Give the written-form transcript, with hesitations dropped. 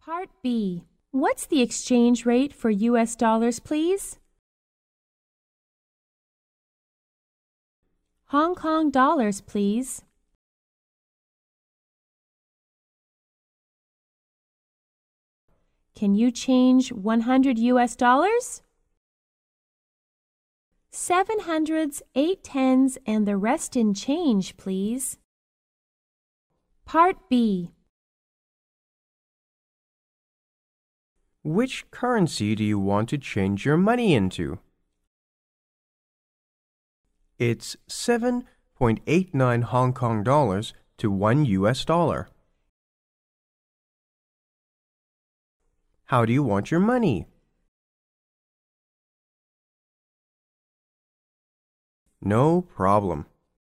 Part B. What's the exchange rate for US dollars, please? Hong Kong dollars, please. Can you change 100 US dollars? 7 hundreds, 8 tens, and the rest in change, please. Part B. Which currency do you want to change your money into? It's 7.89 Hong Kong dollars to 1 US dollar. How do you want your money? No problem.